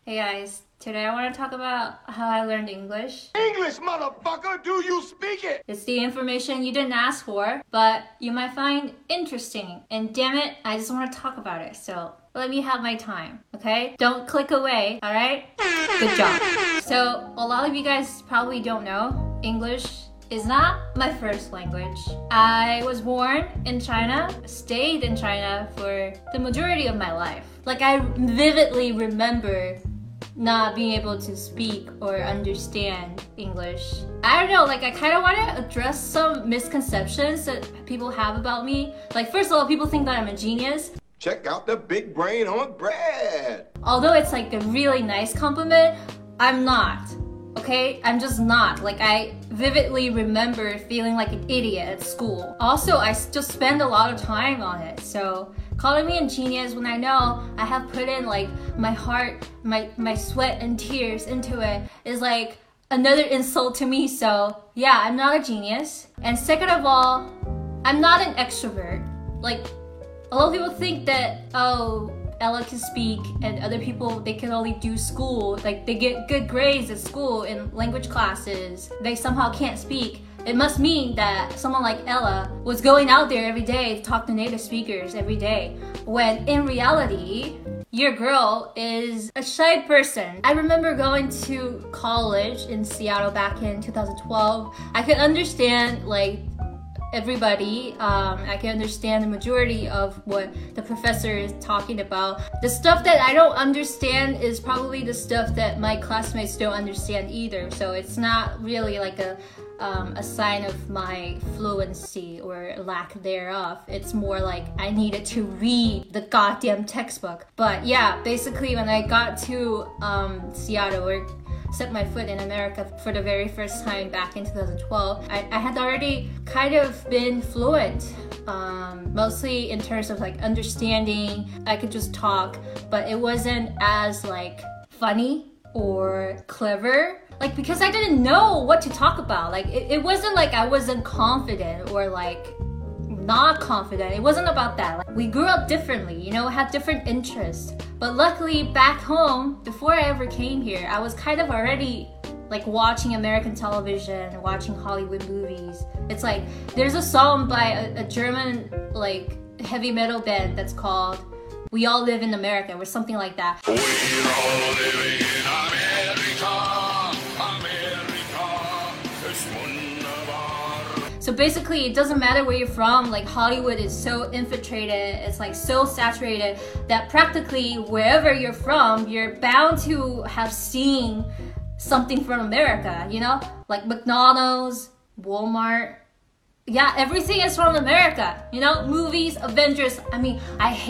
Hey guys, today I want to talk about how I learned English. English, motherfucker! Do you speak it? It's the information you didn't ask for, but you might find interesting. And damn it, I just want to talk about it, so let me have my time, okay? Don't click away, alright? Good job. So, a lot of you guys probably don't know, English is not my first language. I was born in China, stayed in China for the majority of my life. Like, I vividly remember not being able to speak or understand English. I don't know, like I kind of want to address some misconceptions that people have about me. Like, first of all, people think that I'm a genius. Check out the big brain on Brad. Although it's like a really nice compliment, I'm not. Okay? I'm just not. Like, I vividly remember feeling like an idiot at school. Also, I just spend a lot of time on it. So calling me a genius when I know I have put in like my heart, my sweat and tears into it is like another insult to me. So yeah, I'm not a genius. And second of all, I'm not an extrovert. Like, a lot of people think that, oh, Ella can speak and other people, they can only do school. Like, they get good grades at school in language classes. They somehow can't speak. It must mean that someone like Ella was going out there every day to talk to native speakers every day. When in reality, your girl is a shy person. I remember going to college in Seattle back in 2012. I could understand like everybody. I can understand the majority of what the professor is talking about. The stuff that I don't understand is probably the stuff that my classmates don't understand either. So it's not really like a sign of my fluency or lack thereof. It's more like I needed to read the goddamn textbook. But yeah, basically when I got to Seattle, or set my foot in America for the very first time back in 2012, I had already kind of been fluent, mostly in terms of like understanding. I could just talk, but it wasn't as like funny or clever. Like, because I didn't know what to talk about. Like, it wasn't like I wasn't confident or like not confident. It wasn't about that. Like, we grew up differently, you know, had different interests. But luckily back home, before I ever came here, I was kind of already like watching American television, watching Hollywood movies. It's like, there's a song by a German like heavy metal band that's called We All Live in America, or something like that. We're all living in America. So basically, it doesn't matter where you're from. Like, Hollywood is so infiltrated, it's like so saturated that practically wherever you're from, you're bound to have seen something from America, you know? Like McDonald's, Walmart. Yeah, everything is from America, you know? Movies, Avengers. I mean,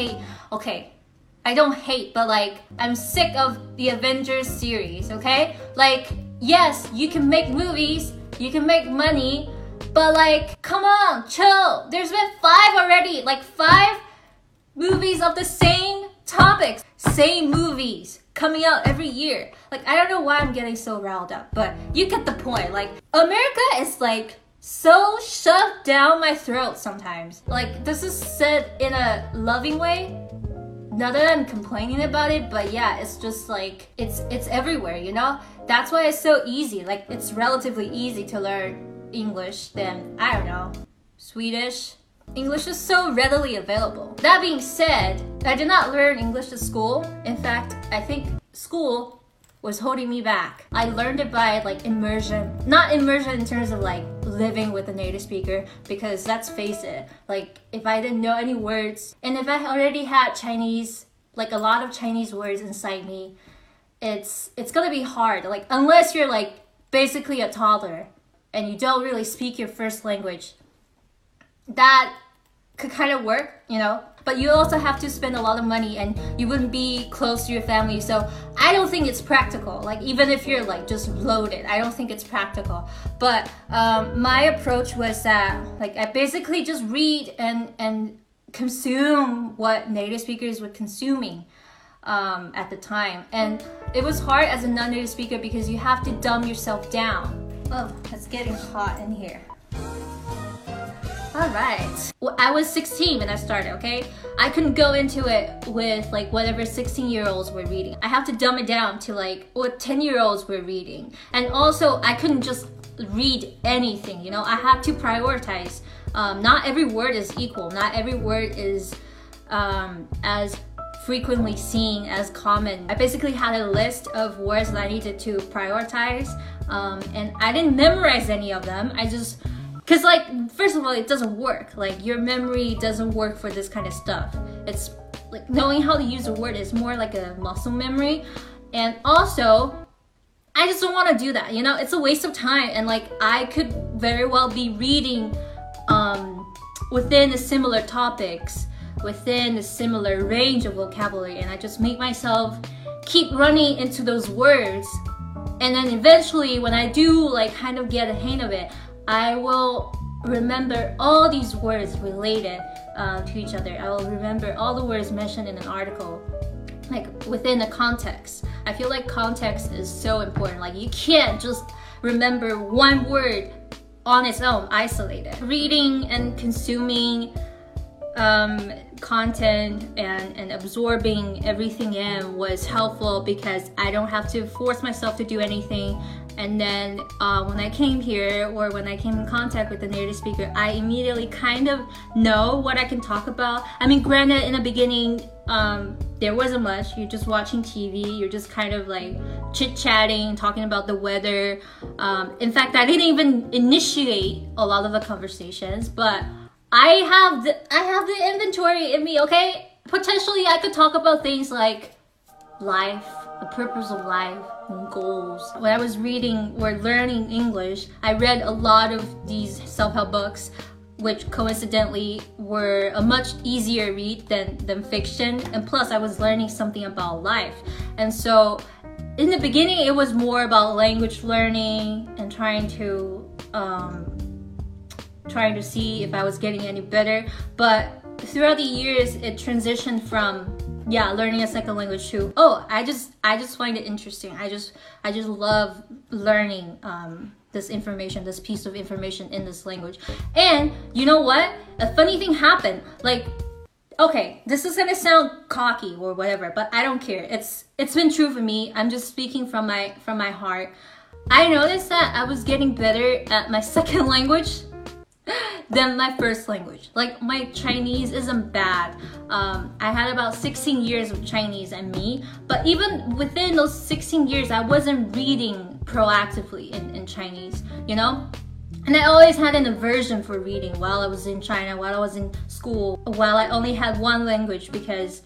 I don't hate, but like, I'm sick of the Avengers series, okay? Like, yes, you can make movies, you can make money, but like, come on, chill. There's been 5 already, like 5 movies of the same topics, same movies coming out every year. Like, I don't know why I'm getting so riled up, but you get the point. Like, America is like so shoved down my throat sometimes. Like, this is said in a loving way. Not that I'm complaining about it, but yeah, it's just like, it's everywhere, you know? That's why it's so easy. Like, it's relatively easy to learn English than, I don't know, Swedish. English is so readily available. That being said, I did not learn English at school. In fact, I think school was holding me back. I learned it by like immersion. Not immersion in terms of like living with a native speaker, because let's face it, like if I didn't know any words, and if I already had Chinese, like a lot of Chinese words inside me, it's gonna be hard. Like, unless you're like basically a toddler and you don't really speak your first language, that could kind of work, you know? But you also have to spend a lot of money and you wouldn't be close to your family. So I don't think it's practical. Like, even if you're like just loaded, I don't think it's practical. But my approach was that like I basically just read and consume what native speakers were consuming at the time. And it was hard as a non-native speaker because you have to dumb yourself down. Oh, it's getting hot in here. Alright. Well, I was 16 when I started, okay? I couldn't go into it with like whatever 16-year-olds were reading. I have to dumb it down to like what 10-year-olds were reading. And also, I couldn't just read anything, you know? I had to prioritize. Not every word is equal. Not every word is as frequently seen, as common. I basically had a list of words that I needed to prioritize. And I didn't memorize any of them. I just... Because like, first of all, it doesn't work. Like, your memory doesn't work for this kind of stuff. It's like knowing how to use a word is more like a muscle memory. And also, I just don't want to do that, you know? It's a waste of time. And like, I could very well be reading within the similar topics, within a similar range of vocabulary, and I just make myself keep running into those words. And then eventually, when I do like kind of get a hang of it, I will remember all these words related to each other. I will remember all the words mentioned in an article, like within the context. I feel like context is so important. Like, you can't just remember one word on its own, isolated. Reading and consuming content and absorbing everything in was helpful because I don't have to force myself to do anything. And then when I came here, or when I came in contact with the native speaker, I immediately kind of know what I can talk about. I mean, granted, in the beginning, there wasn't much. You're just watching TV. You're just kind of like chit-chatting, talking about the weather. In fact, I didn't even initiate a lot of the conversations, but I have the inventory in me, okay? Potentially, I could talk about things like life, the purpose of life, and goals. When I was reading or learning English, I read a lot of these self-help books, which coincidentally were a much easier read than fiction. And plus, I was learning something about life. And so, in the beginning, it was more about language learning and trying to see if I was getting any better. But throughout the years, it transitioned from learning a second language to I just find it interesting. I just love learning this information, this piece of information in this language. And you know what? A funny thing happened. Like, okay, this is gonna sound cocky or whatever, but I don't care. It's been true for me. I'm just speaking from my heart. I noticed that I was getting better at my second language than my first language. Like, my Chinese isn't bad. I had about 16 years of Chinese in me, but even within those 16 years, I wasn't reading proactively in Chinese, you know? And I always had an aversion for reading while I was in China, while I was in school, while I only had one language, because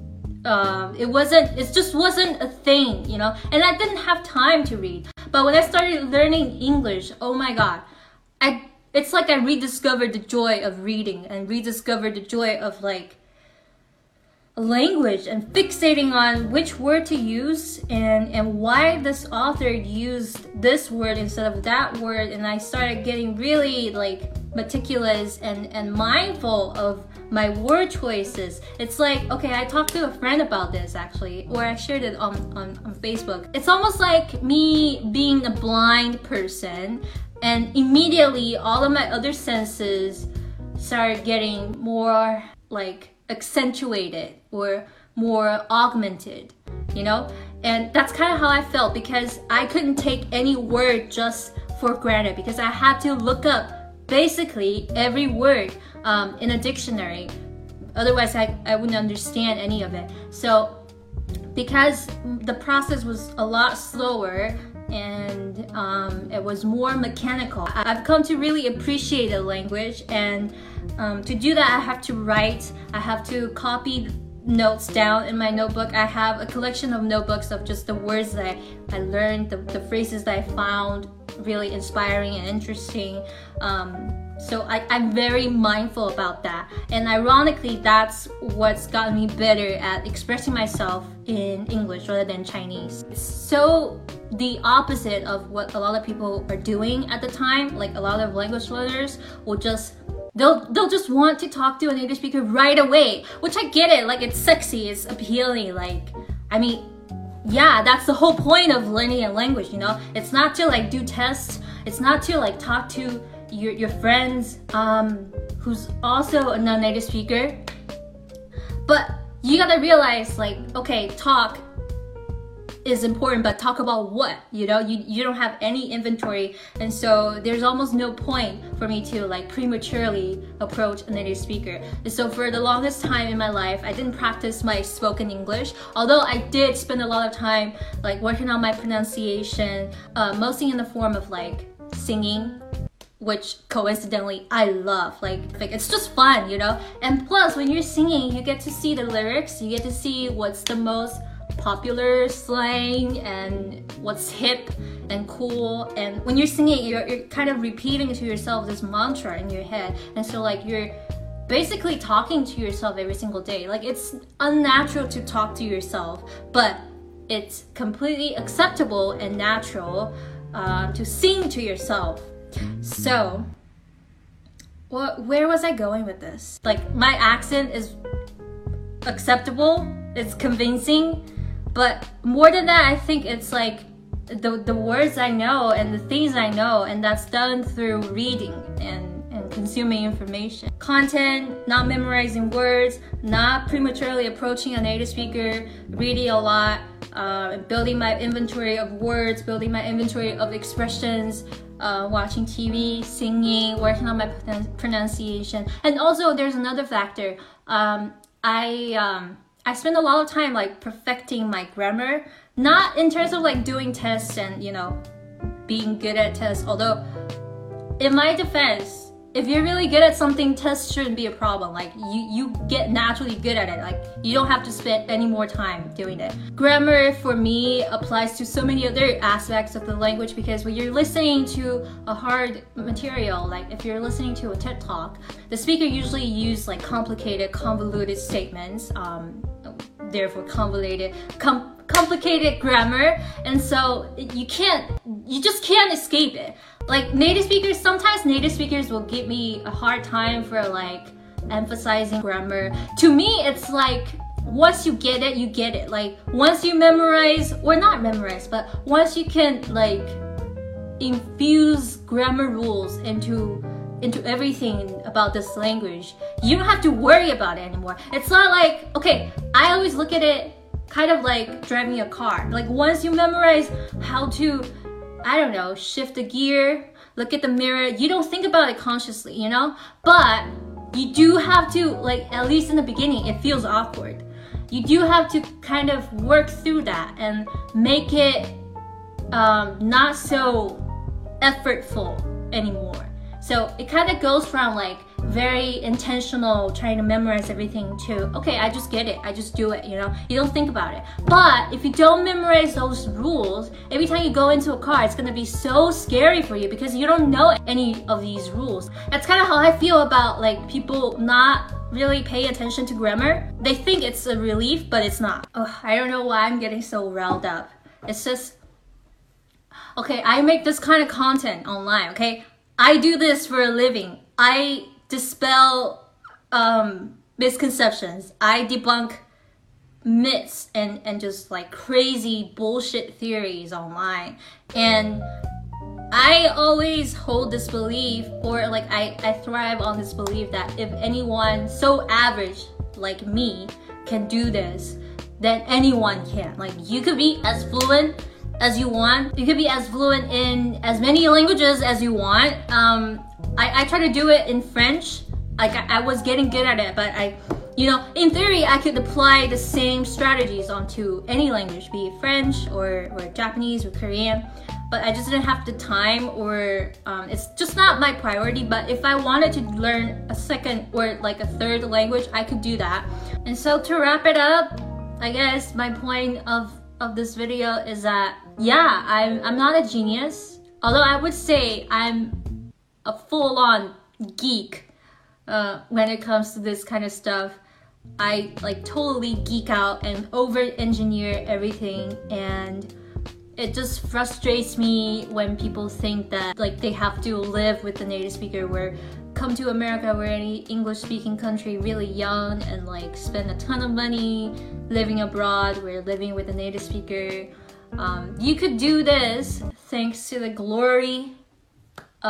it just wasn't a thing, you know? And I didn't have time to read. But when I started learning English, oh my God, it's like I rediscovered the joy of reading and rediscovered the joy of like language and fixating on which word to use and why this author used this word instead of that word. And I started getting really like meticulous and mindful of my word choices. It's like, okay, I talked to a friend about this actually, or I shared it on Facebook. It's almost like me being a blind person, and immediately all of my other senses started getting more like accentuated or more augmented, you know? And that's kind of how I felt, because I couldn't take any word just for granted, because I had to look up basically every word in a dictionary. Otherwise, I wouldn't understand any of it. So because the process was a lot slower and it was more mechanical, I've come to really appreciate the language. And to do that, I have to write, I have to copy notes down in my notebook. I have a collection of notebooks of just the words that I learned, the phrases that I found really inspiring and interesting. So I'm very mindful about that. And ironically, that's what's gotten me better at expressing myself in English rather than Chinese. It's so the opposite of what a lot of people are doing at the time. Like, a lot of language learners will just they'll just want to talk to a native speaker right away, which I get it. Like, it's sexy, it's appealing. Like, I mean, yeah, that's the whole point of learning a language, you know? It's not to like do tests. It's not to like talk to your friends. who's also a non-native speaker. But you gotta realize, like, okay, talk is important, but talk about what? You know, you don't have any inventory, and so there's almost no point for me to like prematurely approach a native speaker. And so for the longest time in my life, I didn't practice my spoken English, although I did spend a lot of time like working on my pronunciation, mostly in the form of like singing, which coincidentally I love. Like it's just fun, you know? And plus, when you're singing, you get to see the lyrics, you get to see what's the most popular slang and what's hip and cool. And when you're singing, you're kind of repeating to yourself this mantra in your head. And so like you're basically talking to yourself every single day. Like it's unnatural to talk to yourself, but it's completely acceptable and natural to sing to yourself. So, where was I going with this? Like, my accent is acceptable, it's convincing, but more than that, I think it's like the words I know and the things I know, and that's done through reading and consuming information. Content, not memorizing words, not prematurely approaching a native speaker, reading a lot, building my inventory of words, building my inventory of expressions, watching TV, singing, working on my pronunciation. And also there's another factor. I spend a lot of time like perfecting my grammar, not in terms of like doing tests and, you know, being good at tests. Although in my defense, if you're really good at something, tests shouldn't be a problem. Like you get naturally good at it. Like you don't have to spend any more time doing it. Grammar for me applies to so many other aspects of the language, because when you're listening to a hard material, like if you're listening to a TED Talk, the speaker usually use like complicated, convoluted statements, therefore complicated grammar, and so you just can't escape it. Like native speakers, sometimes native speakers will give me a hard time for like emphasizing grammar. To me, it's like once you get it, you get it. Like once you memorize, or not memorize, but once you can like infuse grammar rules into everything about this language, you don't have to worry about it anymore. It's not like, okay, I always look at it kind of like driving a car. Like once you memorize how to, I don't know, shift the gear, look at the mirror, you don't think about it consciously, you know? But you do have to, like, at least in the beginning, it feels awkward. You do have to kind of work through that and make it not so effortful anymore. So it kind of goes from like very intentional trying to memorize everything to, okay, I just get it, I just do it, you know? You don't think about it. But if you don't memorize those rules, every time you go into a car, it's gonna be so scary for you because you don't know any of these rules. That's kind of how I feel about like people not really pay attention to grammar. They think it's a relief, but it's not. Oh, I don't know why I'm getting so riled up. It's just, okay, I make this kind of content online, okay? I do this for a living. I dispel misconceptions. I debunk myths and just like crazy bullshit theories online. And I always hold this belief, or like I thrive on this belief that if anyone so average like me can do this, then anyone can. Like you could be as fluent as you want. You could be as fluent in as many languages as you want. I try to do it in French. Like I was getting good at it, but you know, in theory, I could apply the same strategies onto any language, be it French or Japanese or Korean, but I just didn't have the time, or it's just not my priority. But if I wanted to learn a second or like a third language, I could do that. And so to wrap it up, I guess my point of this video is that, yeah, I'm not a genius, although I would say I'm a full-on geek when it comes to this kind of stuff. I like totally geek out and over-engineer everything, and it just frustrates me when people think that like they have to live with the native speaker, where come to America, we're any English-speaking country, really young, and like spend a ton of money living abroad. We're living with a native speaker. You could do this thanks to the glory of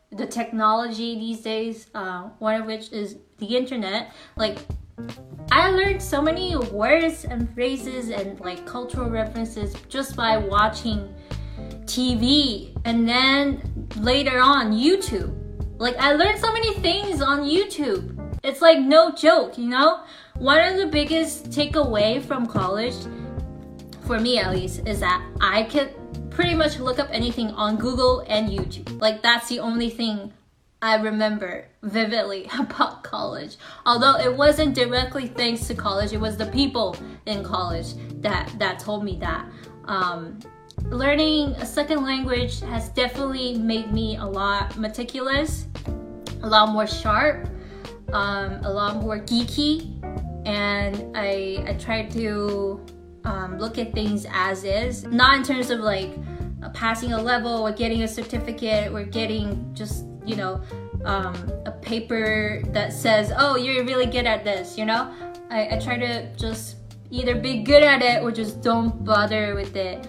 the technology these days, one of which is the internet. Like, I learned so many words and phrases and like cultural references just by watching TV, and then later on YouTube. Like, I learned so many things on YouTube. It's like no joke, you know? One of the biggest takeaway from college, for me at least, is that I could pretty much look up anything on Google and YouTube. Like, that's the only thing I remember vividly about college. Although it wasn't directly thanks to college, it was the people in college that told me that. Learning a second language has definitely made me a lot meticulous, a lot more sharp, a lot more geeky, and I try to look at things as is, not in terms of like passing a level or getting a certificate or getting just, you know, a paper that says, oh, you're really good at this, you know? I try to just either be good at it or just don't bother with it.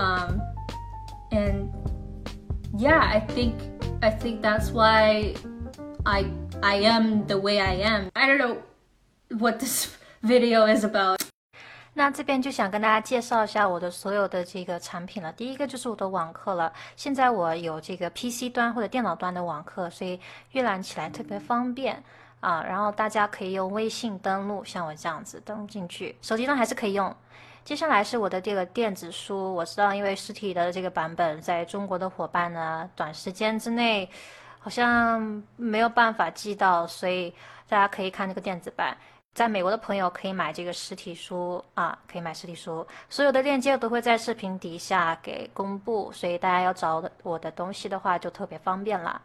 And yeah, I think that's why I am the way I am. I don't know what this video is about. 那这边就想跟大家介绍一下我的所有的这个产品了。第一个就是我的网课了，现在我有这个 PC 端或者电脑端的网课，所以阅览起来特别方便啊。然后大家可以用微信登录，像我这样子登录进去，手机端还是可以用。接下来是我的这个电子书，我知道因为实体的这个版本在中国的伙伴呢，短时间之内好像没有办法寄到，所以大家可以看这个电子版。在美国的朋友可以买这个实体书啊，可以买实体书，所有的链接都会在视频底下给公布，所以大家要找我的东西的话就特别方便了。